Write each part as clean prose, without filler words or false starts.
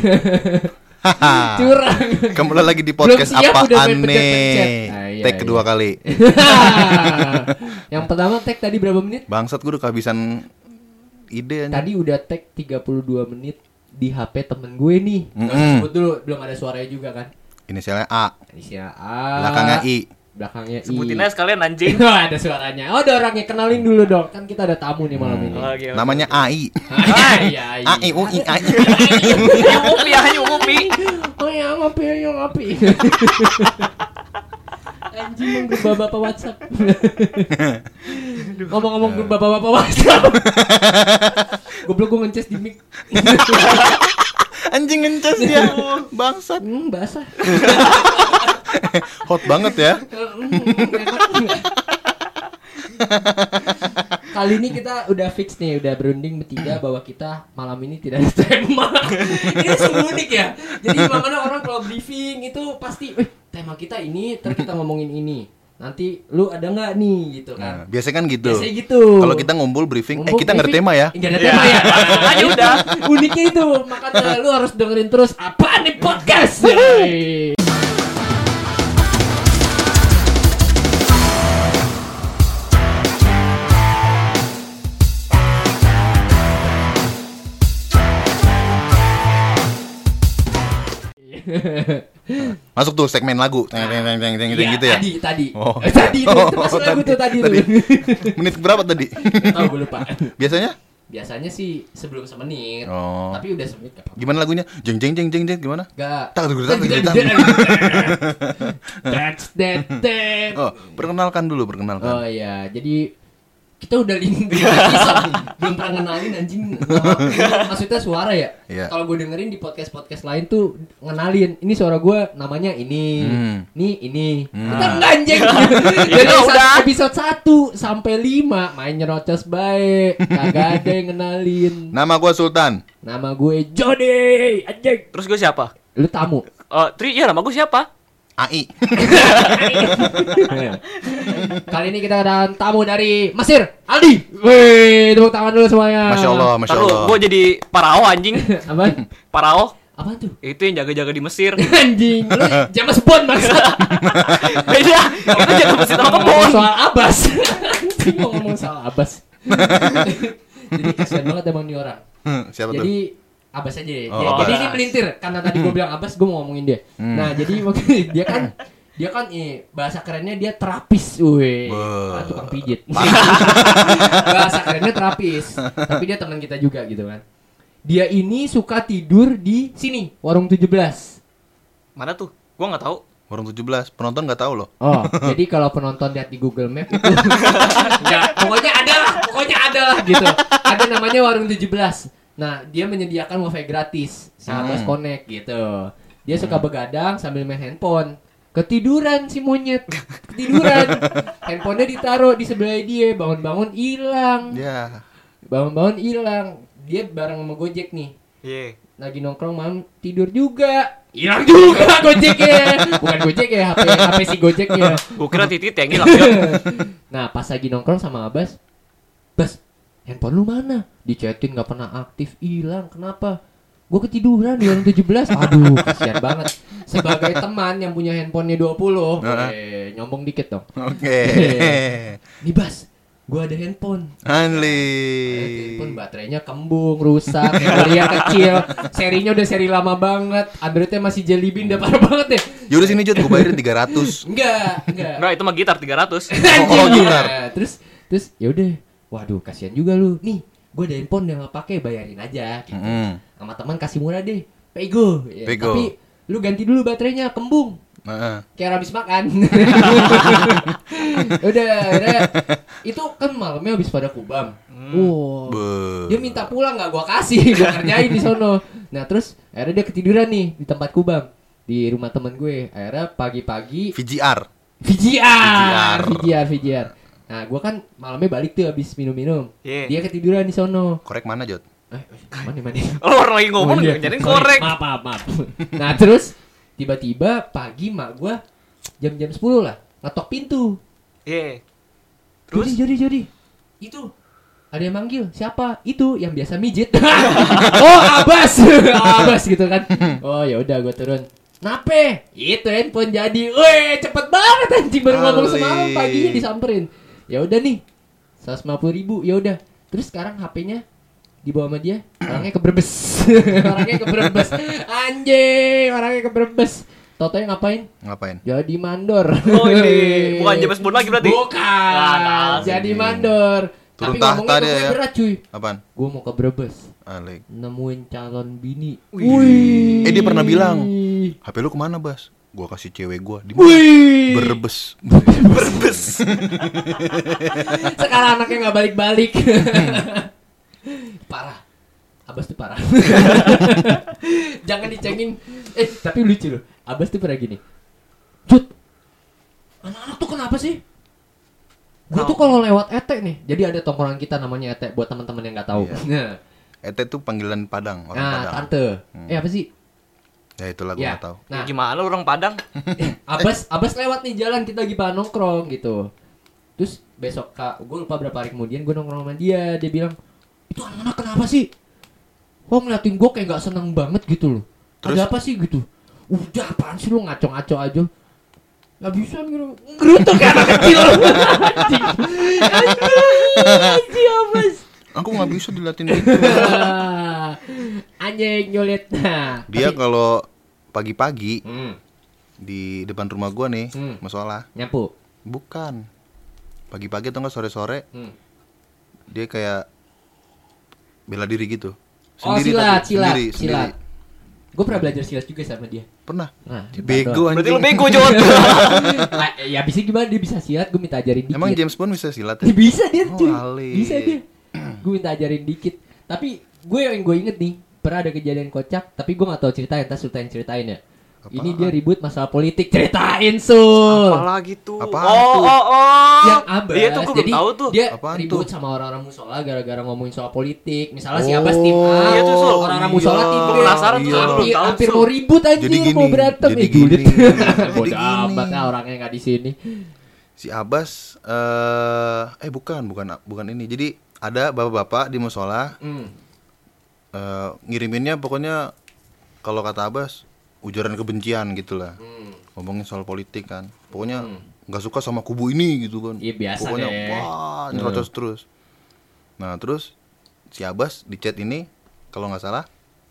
Curang. Kembali lagi di podcast apaan nih? Iya, Take kedua kali. Yang pertama tag tadi berapa menit? Bangsat, gue udah kehabisan ide. Tadi udah tag 32 menit di HP temen gue nih. Sebut dulu, belum ada suaranya juga kan. Inisialnya A. Inisial A. Belakangnya I. Belakangnya I. Sebutin aja sekalian anjing. Ada suaranya. Oh, ada orangnya, kenalin dulu dong. Kan kita ada tamu nih malam ini. Okay. Namanya AI. Iya, A I U I A I. Ayo ngopi. Oh ya, ngopi. Anjing, menggeba bapak WhatsApp. Ngomong-ngomong bapak-bapak WhatsApp. Goblok, gue ngeces di mic. Anjing ngeces dia. Bangsat. Basah. Hot banget ya. Kali ini kita udah fix nih, udah berunding bertiga bahwa kita malam ini tidak ada tema. Ini sungguh unik ya. Jadi makanya orang kalau briefing itu pasti, tema kita ini, ntar kita ngomongin ini. Nanti lu ada nggak nih gitu kan? Nah, biasanya kan gitu. Biasanya gitu. Kalau kita ngumpul briefing, kita nggak ada tema ya. Nggak ada tema ya. Aja udah. Uniknya itu, makanya lu harus dengerin terus apaan nih podcast. Masuk tuh segmen lagu. Teng gitu ya. Tadi. Oh. Tadi itu masuk lagu tuh tadi. Menit berapa tadi? Tahu gue lupa. Biasanya sih sebelum semenit. Oh. Tapi udah semenit kan. Gimana lagunya? Jeng gimana? Enggak. That's that. Oh, perkenalkan dulu. Oh iya, jadi kita udah belum pernah ngenalin anjing. Maksudnya suara ya? Iya. Kalau gue dengerin di podcast lain tuh ngenalin, ini suara gue namanya ini. Ini. Kita enggak anjing. Jadi udah episode 1 sampai 5 main nyerocos baik. Kagak ada yang ngenalin. Nama gue Sultan. Nama gue Jody. Anjing. Terus gue siapa? Lu tamu. Iya, nama gue siapa? AI. Kali ini kita ada tamu dari Mesir, Aldi. Wih, tepuk tangan dulu semuanya. Masya Allah. Gue jadi parao anjing. Apaan? Parao? Apaan tuh? Itu yang jaga-jaga di Mesir. Anjing, lu James Bond maksud. Beda. Itu jaga Mesir sama kebon. Soal Abbas. Anjing, mau ngomong soal Abbas. Jadi kasihan banget emang nih orang. Siapa tuh? Jadi Abbas aja ya. Oh, Jadi Abbas. ini melintir karena tadi gue bilang Abbas, gue mau ngomongin dia. Nah, jadi dia kan bahasa kerennya dia terapis, tukang pijit. Bahasa kerennya terapis. Tapi dia teman kita juga gitu kan. Dia ini suka tidur di sini, Warung 17. Mana tuh? Gue nggak tahu. Warung 17, penonton nggak tahu loh. Oh, jadi kalau penonton lihat di Google Map itu enggak, pokoknya ada lah gitu. Ada namanya Warung 17. Nah, dia menyediakan wifi gratis, Abbas Connect gitu. Dia suka begadang sambil main handphone. Ketiduran si monyet. Handphonenya ditaruh di sebelah dia, bangun-bangun hilang. Ya. Bangun-bangun hilang. Dia bareng sama Gojek nih. Iya. Lagi nongkrong malam tidur juga. Hilang juga Gojeknya. Bukan Gojek ya, HP si Gojeknya. Gue kira titit yang hilang. Nah, pas lagi nongkrong sama Abbas, Bas, handphone lu mana? Dicetin gak pernah aktif, hilang. Kenapa? Gue ketiduran di Warung 17. Aduh, kasihan banget. Sebagai teman yang punya handphonenya 20, nyombong dikit dong. Oke. Nih Bas, gue ada handphone. Handphone baterainya kembung, rusak, memorinya kecil. Serinya udah seri lama banget. Androidnya masih Jelly Bean, udah parah banget deh. Yaudah sini Jod, gue bayarin 300. Enggak. Enggak, itu mah gitar 300. Oh, gitar. Terus ya udah. Waduh, kasihan juga lu. Nih, gue ada handphone yang nggak pakai, bayarin aja. Gitu. Sama teman kasih murah deh, pego. Ya, tapi lu ganti dulu baterainya, kembung. Kayak habis makan. udah. Itu kan malamnya habis pada kubam. Dia minta pulang, nggak gua kasih, gua kerjain di sono. Nah terus akhirnya dia ketiduran nih di tempat kubam di rumah temen gue. Akhirnya pagi-pagi VGR. Nah, gue kan malamnya balik tuh habis minum-minum. Yeah. Dia ketiduran di sono. Korek mana, Jod? Mana? Oh, orang lagi ngomong jadi korek. Maaf. Nah, terus tiba-tiba pagi mak gue jam 10 lah ngetok pintu. Iya. Terus Jody. Itu ada yang manggil, siapa? Itu yang biasa mijit. Oh, Abas. Abas gitu kan. Oh, ya udah gue turun. Nape? Itu handphone jadi. Weh, cepet banget anjing baru ngomong semalam paginya disamperin. Ya udah nih. 150.000, ya udah. Terus sekarang HP-nya dibawa sama dia, orangnya ke Brebes. Orangnya ke Brebes. Anjing, orangnya ke Brebes. Totonya ngapain? Jadi mandor. Oh ini bukan James Bond lagi berarti. Bukan. Jadi mandor. Turun Tapi tahta ngomongnya dia ya. berat cuy. Apaan? Gue mau ke Brebes. Alik. Nemuin calon bini. Wih. Dia pernah bilang, HP lu kemana, Bas? Gua kasih cewek gua di mana? Wih. Berbes. Berbes. Sekarang anaknya nggak balik-balik. Parah. Abas tuh parah. Jangan dicengin. Tapi lucu loh. Abas tuh pernah gini. Jut, anak-anak tuh kenapa sih? Gue tuh kalau lewat Ete nih. Jadi ada tongkrongan kita namanya Ete. Buat teman-teman yang nggak tahu. Iya. Ete tuh panggilan Padang, orang Padang. Tante. Apa sih? Ya itulah gue nggak tahu. Nah, gimana orang Padang? Abas lewat nih jalan, kita lagi pada nongkrong gitu. Terus besok gue lupa berapa hari kemudian gue nongkrong sama dia. Dia bilang, itu anak-anak kenapa sih? Kok ngeliatin gue kayak gak seneng banget gitu loh. Terus? Ada apa sih gitu? Udah apaan sih lu ngaco-ngaco aja. Gak bisa gitu. Ngerutuk kan anak kecil. Anjing Abas. Aku nggak bisa diliatin gitu. Anjing nyulit. Dia kalau pagi-pagi di depan rumah gua nih, musola. Nyapu. Bukan. Pagi-pagi atau enggak sore-sore. Dia kayak bela diri gitu. Silat. Sendiri. Gue pernah belajar silat juga sama dia. Pernah. Nah, Bego Berarti anjing. lu bego, Jod. Ya bisa gimana dia bisa silat, gue minta ajarin dikit. Emang James Bond bisa silat ya? Bisa dia cuy. Alik. Bisa dia. Gue minta ajarin dikit. Tapi yang gue inget nih, pernah ada kejadian kocak, tapi gue gak tahu ceritain, entar Sultan ceritain ya. Apaan? Ini dia ribut masalah politik, ceritain Sul. Apalagi tuh. Apaan tuh? Yang Abas. Iya tuh gue belum tahu tuh. Dia Apaan ribut tuh? sama orang-orang musola gara-gara ngomongin soal politik. Misalnya si Abas tim A, Iya tuh, Sul. orang-orang musola tim B. Gue penasaran tuh, Iya. gue belum tahu. Hampir Sul. mau ribut Jadi anjir, gini, mau berantem. jadi Julid. gini. Jadi Bodoh gini. amat lah orangnya nggak di sini. Si Abbas bukan ini. Jadi ada bapak-bapak di musola ngiriminnya pokoknya kalau kata Abbas ujaran kebencian gitulah. Ngomongin soal politik kan. Pokoknya nggak suka sama kubu ini gitu kan. Iya biasa Pokoknya deh. wah nyerocos terus. Nah terus si Abbas di chat ini kalau nggak salah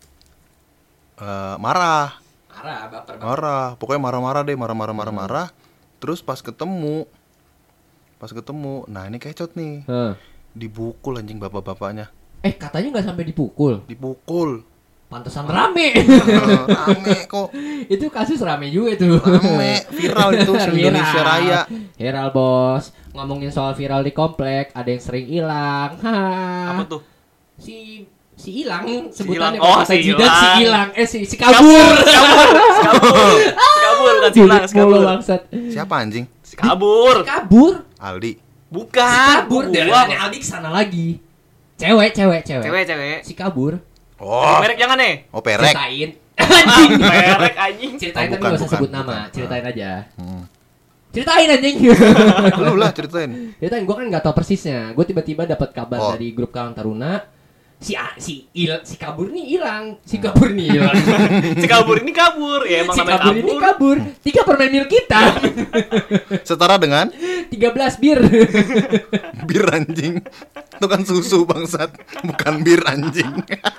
marah. Marah, pokoknya marah. Terus pas ketemu, nah ini kecot nih, dibukul anjing bapak-bapaknya. Katanya nggak sampai dipukul. Pantesan rame. Rame kok, Itu kasus rame juga tuh. rame, viral itu Indonesia Raya. Viral bos. Ngomongin soal viral di komplek, ada yang sering hilang. Apa tuh? Si hilang sebutannya Hilang. Oh, kata si Jidat, si hilang. hilang. Si kabur. Kabur bukan silang, kabur. Bangsat. Siapa anjing? Kabur. Kabur. Aldi. Bukan. Kabur dari Gua. Aldi kesana lagi. Cewek. Cewek. Si kabur. Oh, Merek jangan nih. perek. Ceritain. Merek anjing. Ceritain tapi bukan, gak usah sebut bukan. nama. Ceritain aja. Ceritain anjing. Lu lah ceritain. Ceritain, gue kan gak tahu persisnya. Gue tiba-tiba dapat kabar Oh. dari grup Karang Taruna. Si kabur nih hilang. Si kabur nih hilang. Si kabur ini kabur. Ya emang Si namanya kabur ini kabur. kabur. 3 permen mil kita. Setara dengan 13 bir. bir anjing. Itu kan susu bangsat, bukan bir anjing.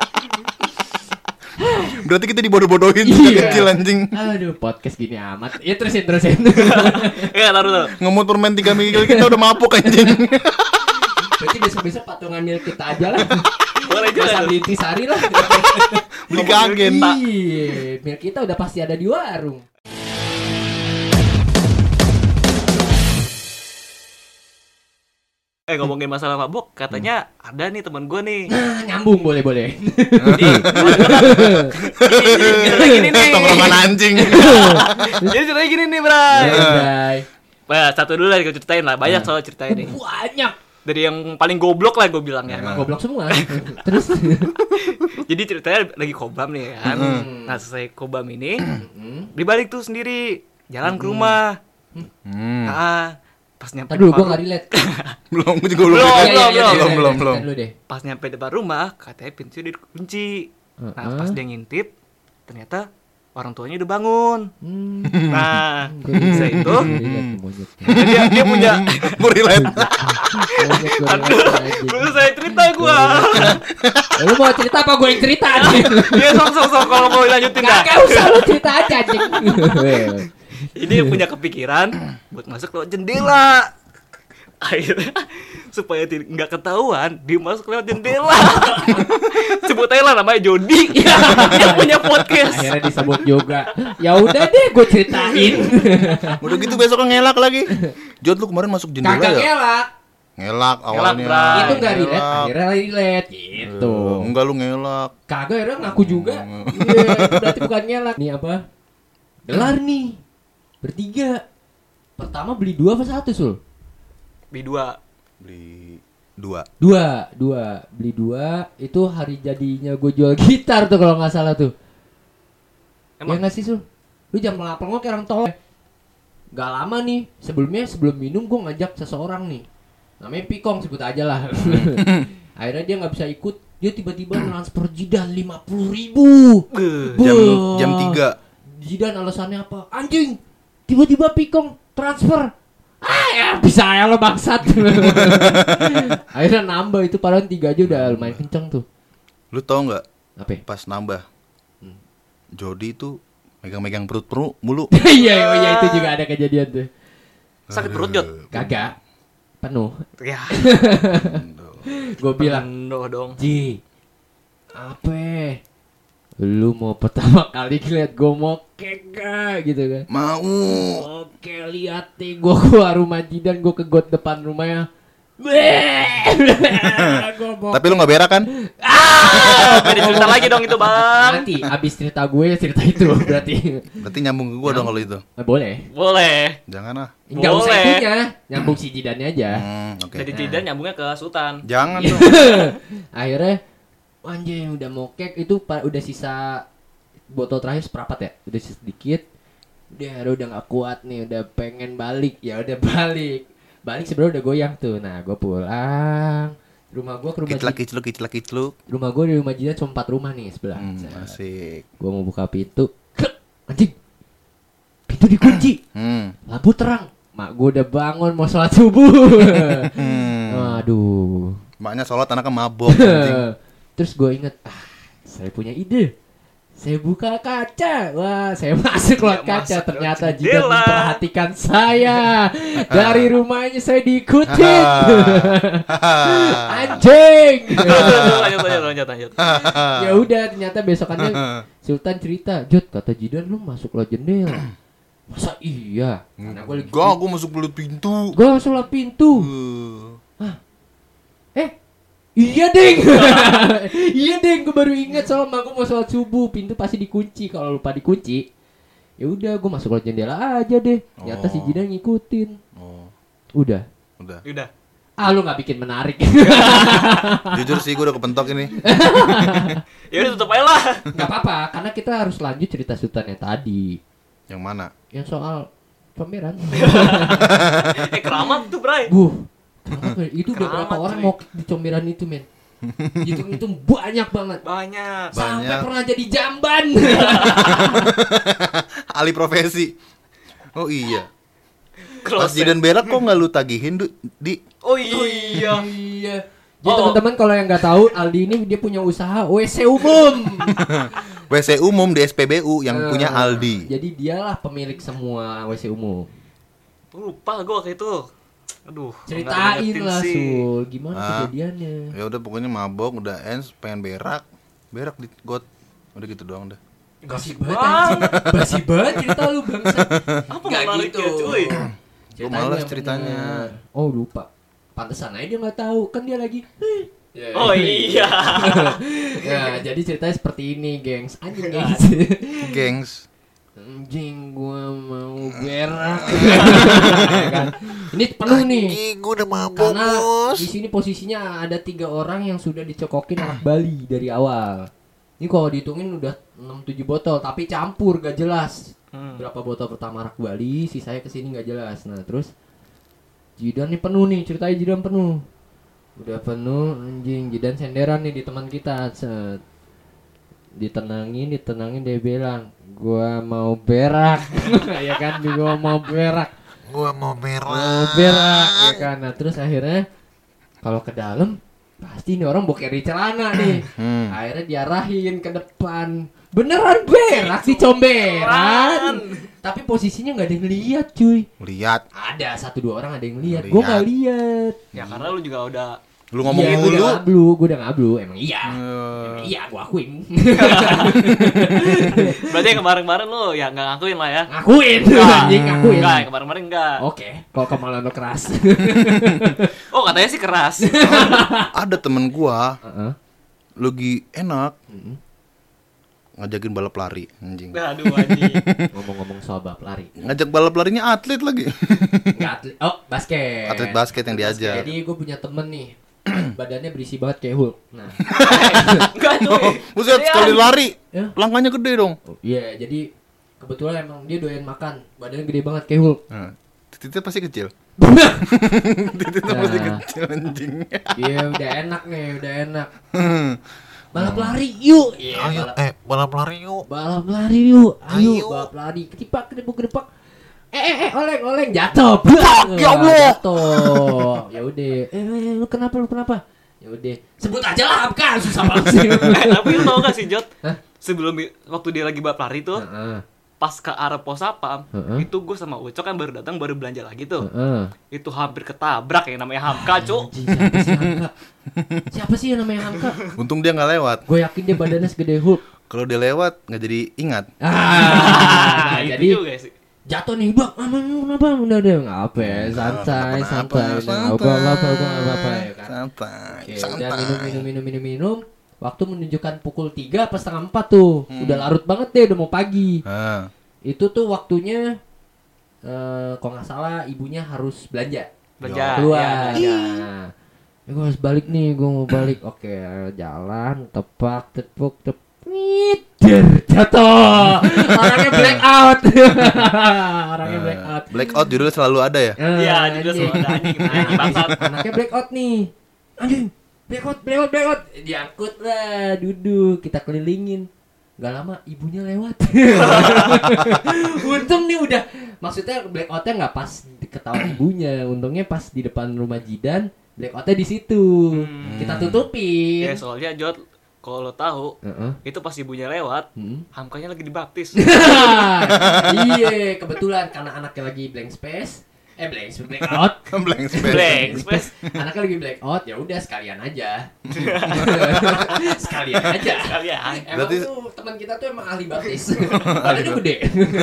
Berarti kita dibodoh-bodohin sejak Iya. kecil anjing. Aduh, podcast gini amat. Ya terusin. Ya taruh. Ngemut permen 3 mil kita udah mabuk anjing. Berarti besok-besok patungan mil kita aja lah. Boleh Gak usah juga. beli intisari lah. Beli ke agen. Iya, mil kita udah pasti ada di warung. Ngomongin masalah mabuk, katanya ada nih teman gue nih. Nah, nyambung boleh. Ceritanya gini nih. Tongkrongan anjing. Jadi ceritanya gini nih, Bray. Bye. Nah, satu dulu lah gue ceritain lah. Banyak soal ceritain nih. Banyak. Dari yang paling goblok lah gue bilang ya. Goblok semua. Terus Jadi ceritanya lagi kobam nih kan. Nah, selesai kobam ini, dibalik tuh sendiri jalan ke rumah. Pas nyampe Tadi dulu depan gue nggak relate. Belum, gue juga belum. Belum, relate. belum, belum, belum. Ceritain dulu deh. pas nyampe depan rumah katanya pintunya dikunci. Nah pas dia ngintip ternyata orang tuanya udah bangun. Nah bisa itu dia punya Gue relate. belum saya cerita gua. Lu mau cerita apa gue yang cerita? Dia sok kalau mau lanjutin dah. Gak usah lu cerita aja anjing. Ini punya kepikiran buat masuk lewat jendela. Akhirnya supaya nggak ketahuan dia masuk lewat jendela. Sebut aja lah namanya Jody. Dia punya podcast. Akhirnya disebut juga. Ya udah deh gue ceritain. Udah gitu besoknya ngelak lagi. Jod, lu kemarin masuk jendela Kagak ya? ngelak. Ngelak awalnya. Bray. Itu gak relate, Ngelak. akhirnya relate gitu. Enggak, lu ngelak. Kagak akhirnya ngaku juga. Iya, itu berarti bukan ngelak. Nih apa? Gelar nih. Bertiga. Pertama beli 2 apa 1 Sul? B2. Beli 2. Dua. Beli 2. Itu hari jadinya gue jual gitar tuh kalau gak salah tuh. Emang? Ya gak sih Sul? Lu jangan pelangak kayak orang tolol. Gak lama nih, sebelum minum gue ngajak seseorang nih. Namanya Pikong, sebut aja lah. Akhirnya dia gak bisa ikut. Dia tiba-tiba transfer Jidan 50.000. Jam 3. Jidan alasannya apa? Anjing, tiba-tiba Pikong transfer. Ya bisa ya lo bangsat. Akhirnya nambah itu, padahal 3 aja udah lumayan kenceng tuh. Lu tau nggak? Apa? Pas nambah, Jody tuh megang-megang perut mulu. Iya itu juga ada kejadian tuh. Sakit perut Jod. Kagak penuh. Ya. Gue bilang, Penuh dong. Ji, apa? Lu mau pertama kali ngeliat gue mokek gak? Gitu kan. Mau. Oke, lihat nih gue keluar rumah Jidan, gue ke got depan rumahnya. Tapi lu nggak berak kan? Beda cerita lagi dong itu bang. Nanti abis cerita gue cerita itu berarti. Berarti nyambung ke gua dong kalau itu. Boleh. Boleh. Jangan ah. Enggak usah Boleh. itunya, nyambung si Jidannya aja. Oke. Jadi Jidan nyambungnya ke Sultan. Jangan Iya. dong. Akhirnya anjing udah mokek itu udah sisa botol terakhir seperempat ya, udah sisa sedikit. Udah nggak kuat nih, udah pengen balik. Ya udah balik sebenarnya udah goyang tuh. Nah gue pulang rumah gue ke rumah Kicluk. rumah gue di rumah Jidan cuma 4 rumah nih sebelah. Asik. Gue mau buka pintu, anjing pintu dikunci, lampu terang. Mak gue udah bangun mau sholat subuh. Aduh. Maknya sholat anaknya mabok. anjing. Terus gue inget, saya punya ide. Saya buka kaca. Wah, saya masuk lewat kaca. masuk Ternyata lewat Jidan jendela. memperhatikan saya. Dari rumahnya saya diikutin. Anjing. Lanjut. Ya udah, ternyata besokannya Sultan cerita, Jod, kata Jidan lu masuk lewat jendela. Masa iya? Karena gue lagi Gua masuk belut pintu. gue langsung lewat pintu. Iya deng. Iya deng, gue baru ingat soalnya gue mau sholat subuh, pintu pasti dikunci. Kalau lupa dikunci, ya udah gue masuk lewat jendela aja deh. Ternyata si Jidan ngikutin. Udah. Ah, lu nggak bikin menarik. Jujur sih gua udah kepentok ini. Ya udah tutup aja lah. Nggak apa-apa, karena kita harus lanjut cerita Sultan yang tadi, Yang mana? yang soal pameran. Keramat tuh Bray. Itu udah berapa Keramat, orang cuy. mau di comberan itu, men? Itu banyak banget. Banyak. Sampai pernah jadi jamban. Alih profesi. Oh iya. Pas Close. Jidan berak kok nggak lu tagihin di? Oh iya. Iya. Jadi teman-teman kalau yang nggak tahu, Aldi ini dia punya usaha WC umum. WC umum di SPBU yang punya Aldi. Jadi dialah pemilik semua WC umum. Lupa gue waktu itu. Aduh. Ceritain nggak diingetin lah sih. Sul, gimana kejadiannya? Ya udah pokoknya mabok, udah ends, pengen berak di got. Udah gitu doang dah. Basi banget anjing. Basi banget cerita lu bangsa. Apa Nggak menarik gitu. ya cuy? Gua malas yang ceritanya. bener. Oh lupa. Pantesan aja dia nggak tahu, kan dia lagi. Oh iya. Ya, jadi ceritanya seperti ini, gengs. Anjing, gengs. Gengs. Anjing, gua mau berak. Kan? Ini penuh nih. Gua udah mabok, Karena Bos. di sini posisinya ada 3 orang yang sudah dicokokin anak Bali dari awal. Ini kalau dihitungin udah 6-7 botol, tapi campur gak jelas. Berapa botol pertama anak Bali, sisanya kesini gak jelas. Nah terus Jidan nih penuh nih, ceritanya Jidan penuh. Udah penuh anjing, Jidan senderan nih di teman kita. Set. Ditenangin dia bilang, "Gua mau berak." Ya kan, gua mau berak. Mau berak ya kan. Nah, terus akhirnya kalau ke dalam pasti ini orang boker di celana nih. Akhirnya diarahin ke depan. Beneran berak di comberan. Tapi posisinya nggak ada yang lihat, cuy. Lihat. Ada 1-2 orang ada yang lihat. Gue nggak lihat. Ya karena lu juga udah Lu ngomongin Iya, dulu. gue udah ngablu. Emang iya. Iya, gue akuin. berarti yang kemarin-kemarin lu ya nggak ngakuin lah ya. Ngakuin. Anjing, ngakuin. Enggak, yang kemarin-kemarin enggak. Oke, kalau kemalan lo keras. Oh, katanya sih keras. Ada temen gua Heeh. lagi enak ngajakin balap lari anjing. Aduh anjing. Ngomong-ngomong soal balap lari. Ngajak balap larinya atlet lagi. Enggak atlet. Oh, basket. Atlet basket yang diajak. Jadi gue punya temen nih. Badannya berisi banget kayak Hulk. Nah. Enggak tuh. Buset, sekali lari Ya. langkahnya gede dong. Iya, jadi kebetulan emang dia doyan makan. Badannya gede banget kayak Hulk. Nah, titiknya pasti kecil. Nah. Titiknya pasti kecil anjing. Iya, udah enak nih, udah enak. Balap lari yuk. Iya, balap lari yuk. balap lari yuk. Ayo. Ayo, balap lari. Ketipak, kedepuk. Oleng jatuh. Ya Allah. Jatuh. Ya udah. Lu kenapa? Ya udah. Sebut aja lah kan, susah banget sih. Tapi lu tau gak sih, Jot? Hah? Sebelum waktu dia lagi balap lari tuh, Heeh. pas ke arah pos sapam, Heeh. itu gue sama Ucok kan baru datang, baru belanja lagi tuh. Heeh. Itu hampir ketabrak yang namanya Hamka, Cuk. Anjing, siapa sih yang namanya Hamka? Untung dia nggak lewat. Gue yakin dia badannya segede Hulk. Kalau dia lewat nggak jadi ingat. Nah, Jadi itu juga sih. jatuh nih bang, kenapa? Udah nggak apa ya, santai. Udah nggak apa-apa ya kan. Santai. Oke, udah minum. Waktu menunjukkan pukul 3 pas setengah 4 tuh. Udah larut banget deh, udah mau pagi. Ah, Itu tuh waktunya kalau nggak salah ibunya harus belanja. Belanja. Keluar. Ya, Nah, gue harus balik nih, gue mau balik. Oke, jalan, tepuk, jatuh. Orangnya black out. Orangnya black out. blackout judulnya selalu ada ya. Iya, juga anjing. semua ada anjing. Anjing bangsat. Anaknya black out nih. Anjing, black out. Diangkut lah, duduk, kita kelilingin. Gak lama ibunya lewat. Untung nih udah, maksudnya black outnya nggak pas ketahuan ibunya. Untungnya pas di depan rumah Jidan, black outnya di situ. Kita tutupin. Ya soalnya Jot, kalau lo tahu, Heeh. itu pas ibunya lewat, Hmm. Hamkanya lagi dibaptis. Iya, kebetulan karena anaknya lagi blank out. Blank space. Blank space. Anaknya lagi black out, ya udah sekalian aja. sekalian aja. Sekalian. Emang Berarti- tuh teman kita tuh emang ahli baptis. Badannya gede.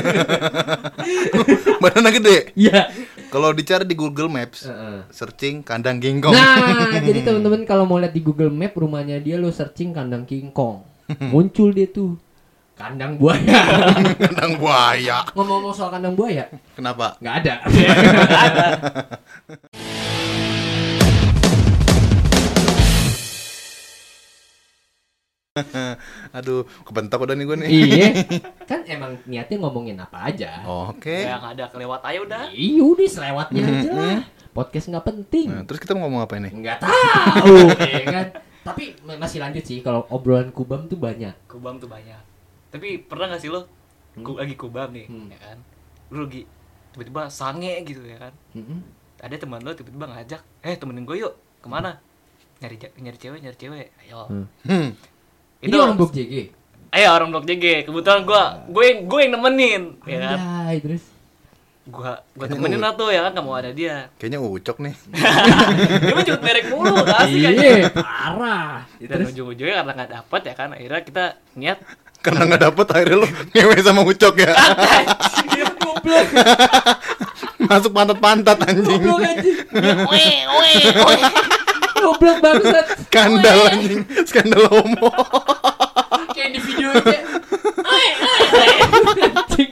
Badannya gede. Iya. Kalau dicari di Google Maps, Heeh. searching kandang King Kong. Nah, jadi teman-teman kalau mau lihat di Google Map rumahnya dia, lo searching kandang King Kong. Muncul dia tuh. Kandang buaya. Kandang buaya. Ngomong-ngomong soal kandang buaya, Kenapa? nggak ada. Aduh, kebentak udah nih gue nih. Iya. Kan emang niatnya ngomongin apa aja. Oke. Yang ada kelewat aja udah. Iya udah selewatnya aja lah. Podcast nggak penting. Nah, terus kita mau ngomong apa ini? Nggak tahu, ya kan. Tapi masih lanjut sih kalau obrolan kubam tuh banyak. Kubam tuh banyak. Tapi pernah gak sih lo lagi kubam nih, ya kan? Lu lagi tiba-tiba sange gitu ya kan? Mm-mm. Ada teman lo tiba-tiba ngajak, temenin gue yuk, kemana? Nyari cewek, ayo. Hmm. Ini orang Blok JG. Ayo orang Blok JG. Kebetulan gue yang nemenin, ya kan? Anjay, terus. Gue temenin lah tuh ya kan, gak mau ada dia. Kayaknya Ucok nih. Dia mah cuma merek mulu, asik aja. Iya, parah. Dan ujung-ujungnya karena gak dapet ya kan, akhirnya kita niat. Karena nggak dapet akhirnya lu ngewe sama Ucok ya. Dia goblok. Masuk pantat-pantat anjing. Goblok anjing. Weh. Goblok bangsat. Skandal anjing. Skandal homo. Kayak di video aja. Anjing.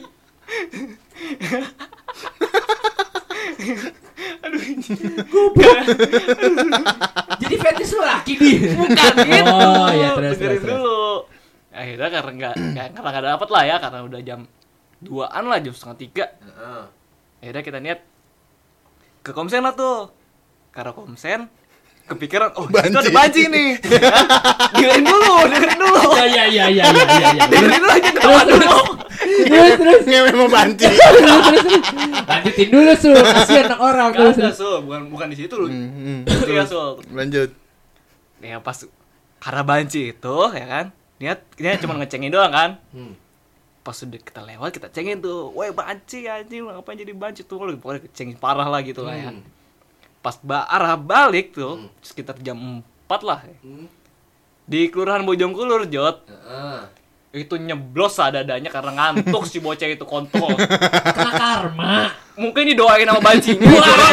Goblok. Jadi fetish lu laki di. Bukan gitu. Oh, ya terus. Dengerin dulu. Akhirnya karena nggak dapet lah ya, karena udah jam 2-an lah, jam setengah 3. Akhirnya kita niat Ke Komsen lah tuh. Karena Komsen kepikiran, oh Banci. itu ada banci nih. Dengerin dulu. Iya. Dengerin dulu aja ketawa dulu. Terus. Ngewe mau banci. Lanjutin dulu Sul, kasihan anak orang Gak terus. ada, Sul. Bukan di situ lu. Iya, Sul. Lanjut. Ya pas karena banci itu ya kan. Niat cuma ngecengin doang kan. Pas udah kita lewat kita cengin tuh. Woi banci anjing, ngapain jadi banci tuh. Pokoknya cengin parah lah gitu lah ya. Pas arah balik tuh sekitar jam 4 lah. Di Kelurahan Bojongkulur, Jot. Itu nyeblos sadadanya karena ngantuk si bocah itu kontol. Kena karma. Mungkin didoain sama bancinya.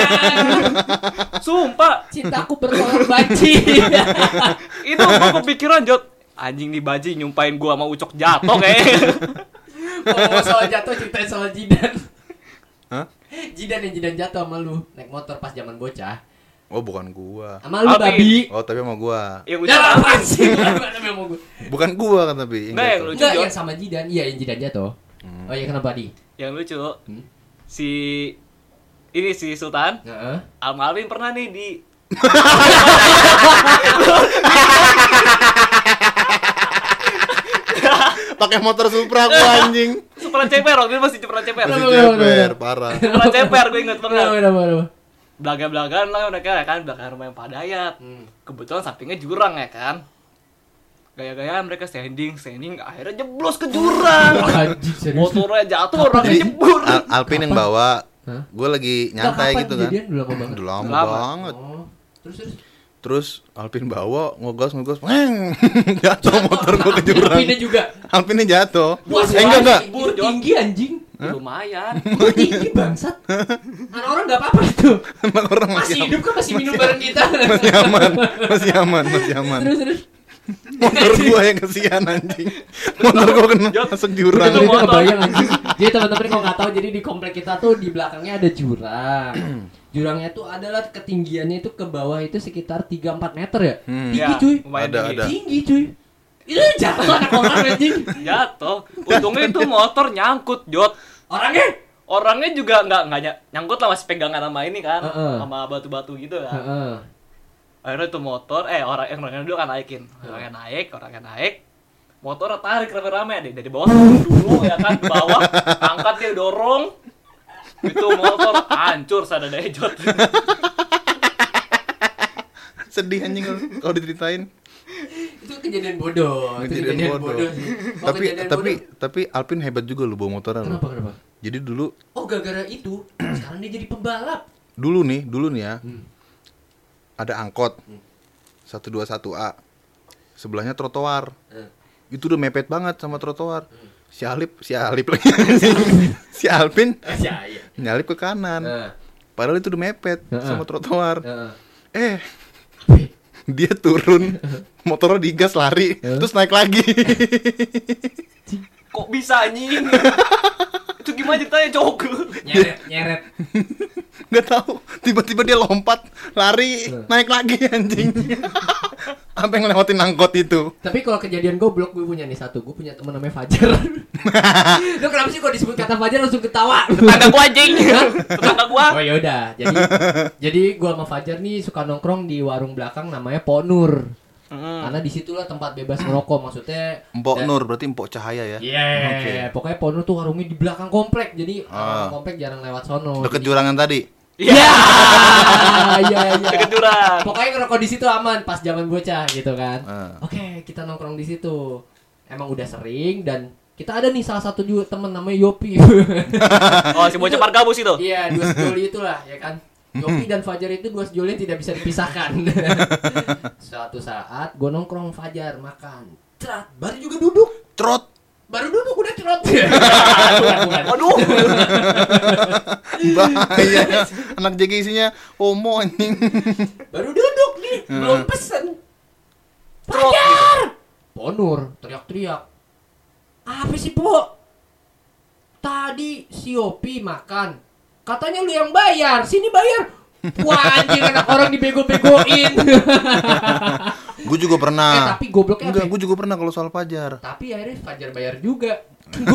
Sumpah, Cintaku bertolak banci. itu gua kepikiran, Jot. Anjing nih banci nyumpain gua sama Ucok jatuh kayaknya. Ngomong soal jatuh, ceritain soal Jidan. Hah? Jidan jatuh sama lu naik motor pas zaman bocah. Oh, bukan gua. Sama lu Alvin. babi. Oh, tapi sama gua. Yang Ya Ucok apaan sih? Mana mau gue? Bukan gua kan tapi. Nggak, yang jatuh. lucu, Enggak, Jot. yang sama Jidan. Iya, yang Jidan jatuh. Oh iya, kenapa di? Yang lucu. Si Sultan Heeh. sama Alvin pernah nih di Pakai motor Supra gua anjing. Supra ceper, waktu itu masih Supra ceper. Masih Kenapa? ceper, parah. Supra ceper, gue inget banget. Kenapa? Belaga-belagaan lah mereka ya kan, belakang rumah yang Pak Dayat. Kebetulan sampingnya jurang ya kan. Gaya-gaya mereka standing, akhirnya jeblos ke jurang. Anjing serius. Motornya jatuh, orangnya jebur. Alpin yang bawa. Hah? Gua lagi nyantai Kapan gitu kan. kejadian? Udah lama banget. Udah lama Lama. banget. Oh. Terus. Terus Alpin bawa ngegas, weng. Jatuh motor gua ke jurang. Alpinnya juga. Alpinnya jatuh. Wah, Enggak. Itu tinggi anjing. Lumayan. Itu tinggi bangsat. Anak orang enggak apa-apa itu. Emang orang Masih masih hidup kan masih minum bareng kita. masih aman. Terus. Motor gua yang kesian anjing. Motor gua kena masuk jurang. Itu Itu motor. kebayang anjing. Jadi teman-teman kalau nggak tahu, jadi di komplek kita tuh di belakangnya ada jurang. Jurangnya tuh adalah ketinggiannya itu ke bawah itu sekitar 3-4 meter ya. Tinggi Ya, cuy. lumayan Ada. tinggi. Tinggi cuy. Itu jatuh anak orang anjing. Jatuh. Untungnya itu motor nyangkut, Jot. Orangnya juga nggak nyangkut lah, masih pegangan sama ini kan, sama batu-batu gitu kan. Heeh. Akhirnya itu motor, orangnya dulu kan naikin, orangnya naik, motor tarik rame-rame deh dari bawah dulu ya kan, ke bawah, angkat dia dorong, itu motor hancur sadadanya Jot. Sedih anjing kalau diceritain. Itu kejadian bodoh. Itu Kejadian bodoh. sih. Oh, kejadian bodoh. Tapi Alpin hebat juga lu bawa motornya lu. Kenapa? Jadi dulu Oh, gara-gara itu sekarang dia jadi pembalap. dulu nih ya. Ada angkot 121A. Sebelahnya trotoar. Itu udah mepet banget sama trotoar. Si Alip lagi. Si Alpin Iya. nyalip ke kanan. Padahal itu udah mepet sama trotoar. Heeh. Dia turun, motornya digas lari, terus naik lagi. Kok bisa anjing? Itu gimana ceritanya, Cok? Nyeret. Gak tahu, tiba-tiba dia lompat, lari, naik lagi anjing. Sampai ngelewatin angkot itu. Tapi kalau kejadian goblok gue punya nih satu. Gue punya teman namanya Fajar. Lu kenapa sih kalau disebut kata Fajar langsung ketawa? Tetangga gua anjing. Tetangga gua. Oh ya udah. Jadi gue sama Fajar nih suka nongkrong di warung belakang namanya Pok Nur. Karena disitulah tempat bebas merokok, maksudnya. Empok Nur, berarti Empok Cahaya ya? Iya. Oke. Pokoknya Pok Nur tuh warungnya di belakang komplek. Jadi orang komplek jarang lewat sono. Deket jurangan tadi. Iya. Iya. Deket jurang. Pokoknya ngerokok di situ aman pas zaman bocah gitu kan. Ah. Oke, kita nongkrong di situ. Emang udah sering dan kita ada nih salah satu juga temen namanya Yopi. Oh, si bocah pargabus itu. Iya, dua sejoli itulah ya kan. Yopi dan Fajar itu dua sejoli yang tidak bisa dipisahkan. Suatu saat gue nongkrong Fajar makan. Cerat, baru juga duduk. Trot. Baru duduk udah cerot. Waduh. Bahaya. Anak JG isinya homo anjing. Baru duduk nih, belum pesen. Fajar. Ponur teriak-teriak. Apa sih, Po? Tadi si Yopi makan. Katanya lu yang bayar, sini bayar. Wah, anjing anak orang dibego-begoin. Gue juga pernah. Tapi gobloknya Enggak, apa? gue juga pernah kalau soal Fajar. Tapi akhirnya Fajar bayar juga.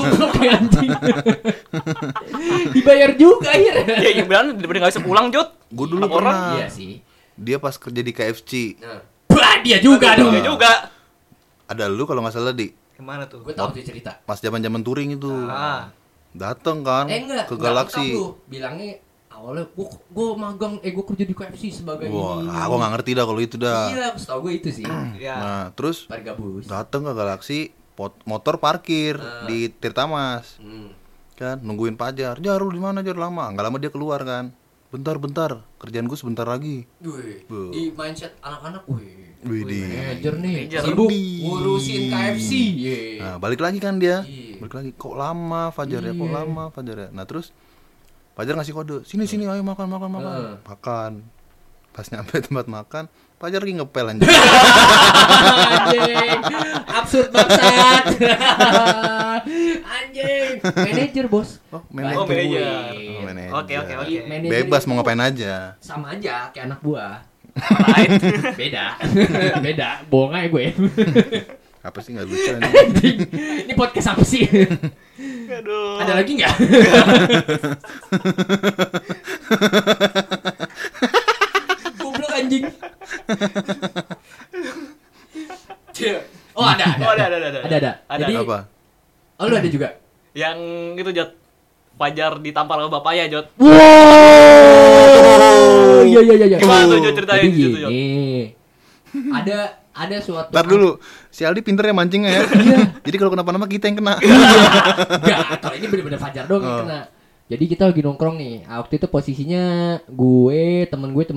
Gobloknya anjing. Dibayar juga akhirnya. Ya beneran daripada enggak bisa pulang, Jot. Gue dulu Anak orang? pernah. Iya sih. Dia pas kerja di KFC. Nah. Bah, dia juga dong. Dia juga. Ada lu kalau nggak salah di Gimana tuh? Gue tahu tuh cerita. pas zaman touring itu. Ah. Dateng kan Enggak, ke enggak Galaxy. lengkap lu. Bilangnya awalnya gue magang, gue kerja di KFC sebagai Wah, ini. aku nggak ngerti dah kalau itu dah. Iya, setahu gue itu sih. Ya. Nah, terus Pak Gabus. dateng ke Galaxy, motor parkir di Tirtamas. Hmm. Kan nungguin Pajar. Jar, lu di mana Jar? Lama. Enggak lama dia keluar kan. Bentar, kerjaan gue sebentar lagi. Wih, Bu. di mindset anak-anak, wih. Widih. Manajer nih, Manajer. sibuk Widih. ngurusin KFC. Ye. Nah, balik lagi kan dia. Iya. Balik lagi. Kok lama Fajar ya? Kok Iya. lama Fajar ya? Nah, terus Fajar ngasih kode. Sini, ayo makan. Makan. Pas nyampe tempat makan, Fajar lagi ngepel anjing. Anjing, absurd bangsat. Anjing, manajer bos. Oh, Oh, manajer. manajer. Oh, manajer. Oke. Manajer Bebas itu mau ngapain aja. sama aja kayak anak buah. Right. Beda. Beda, bohong aja gue. Apa sih nggak lucu ini? Anjing, ini podcast apa sih? Aduh. Ada lagi nggak? Goblok anjing. Oh ada. Oh, ada. Ada. Jadi, Apa? oh lu ada juga. Yang itu Jot. Fajar ditampar sama bapaknya Jot. Wow. Iya. Gimana tuh, Jod, ceritain Jadi gitu, Jod. gini. Ada suatu Ntar dulu, si Aldi pinter ya mancingnya ya. Iya. Jadi kalau kenapa-napa kita yang kena. Enggak, kalau ini bener-bener Fajar dong yang kena. Jadi kita lagi nongkrong nih. Waktu itu posisinya temen gue.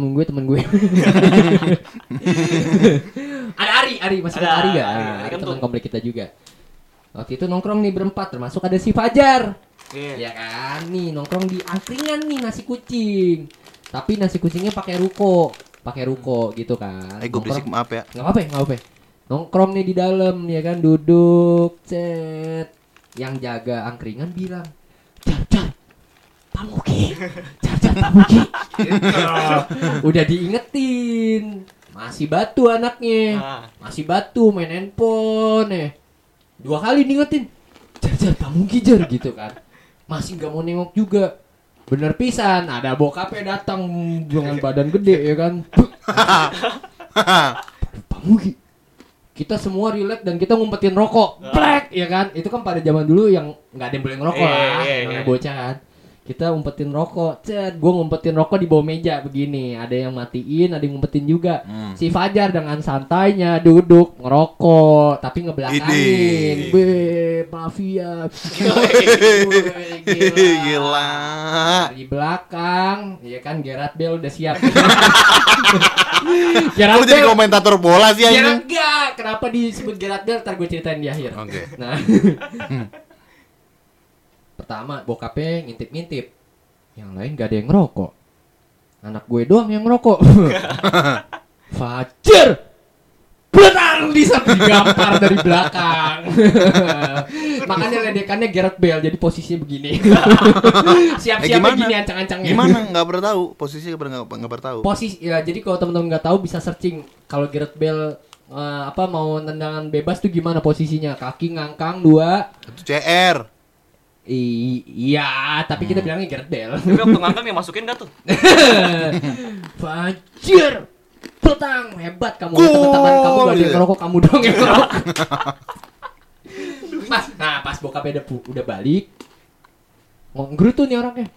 Ada Ari masih Ada, ada Ari gak? Ari Teman Kentung. komplek kita juga. Waktu itu nongkrong nih berempat, termasuk ada si Fajar. Iya. Ya kan, nih nongkrong di angkringan nih nasi kucing. Tapi nasi kucingnya pakai ruko gitu kan. Gue berisik maaf ya. Nggak apa-apa. Nongkrong nih di dalam ya kan, duduk, cet. Yang jaga angkringan bilang, Jar, Pamuki. Gitu. Udah diingetin. Masih batu anaknya. Masih batu main handphone. 2 kali diingetin. Jar, Pamuki Jar gitu kan. Masih nggak mau nengok juga. Bener pisan, ada bokapnya datang dengan badan gede ya kan. Pamuki. Kita semua relax dan kita ngumpetin rokok. Plek ya kan. Itu kan pada zaman dulu yang nggak ada yang boleh ngerokok lah, namanya bocah kan. Kita ngumpetin rokok. Gue ngumpetin rokok di bawah meja begini. Ada yang matiin, ada yang ngumpetin juga. Si Fajar dengan santainya duduk ngerokok tapi ngebelakangin. Idih. Mafia. Gila. Di belakang, ya kan Gerard Bale udah siap. Lu jadi komentator bola sih anjing. Enggak, kenapa disebut Gerard Bale? Ntar gue ceritain di akhir. Oke. Nah, pertama bokapnya ngintip-ngintip, yang lain gak ada yang ngerokok. Anak gue doang yang ngerokok. Fajar, benar bisa digampar dari belakang. Makanya ledekannya Gerard Bale, jadi posisinya begini. Siap-siap begini ancang-ancangnya. Gimana? Nggak pernah tahu. Posisinya nggak pernah tahu. Posisi ya, jadi kalau teman-teman nggak tahu bisa searching kalau Gerard Bale mau tendangan bebas tuh gimana posisinya, kaki ngangkang 2. Itu CR. Iya, tapi kita bilangnya Gerard Bale. Tapi waktu ngangkang dimasukin gak tuh? Fajar, petang hebat kamu. Teman-teman kamu gak ada yang ngerokok, kamu doang yang ngerokok. Pas bokapnya udah balik, ngerutu nih orangnya.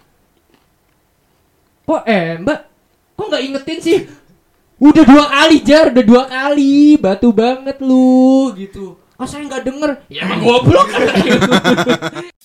Mbak, kok nggak ingetin sih? Udah 2 kali Jar, udah 2 kali, batu banget lu gitu. Oh saya nggak denger, ya emang goblok.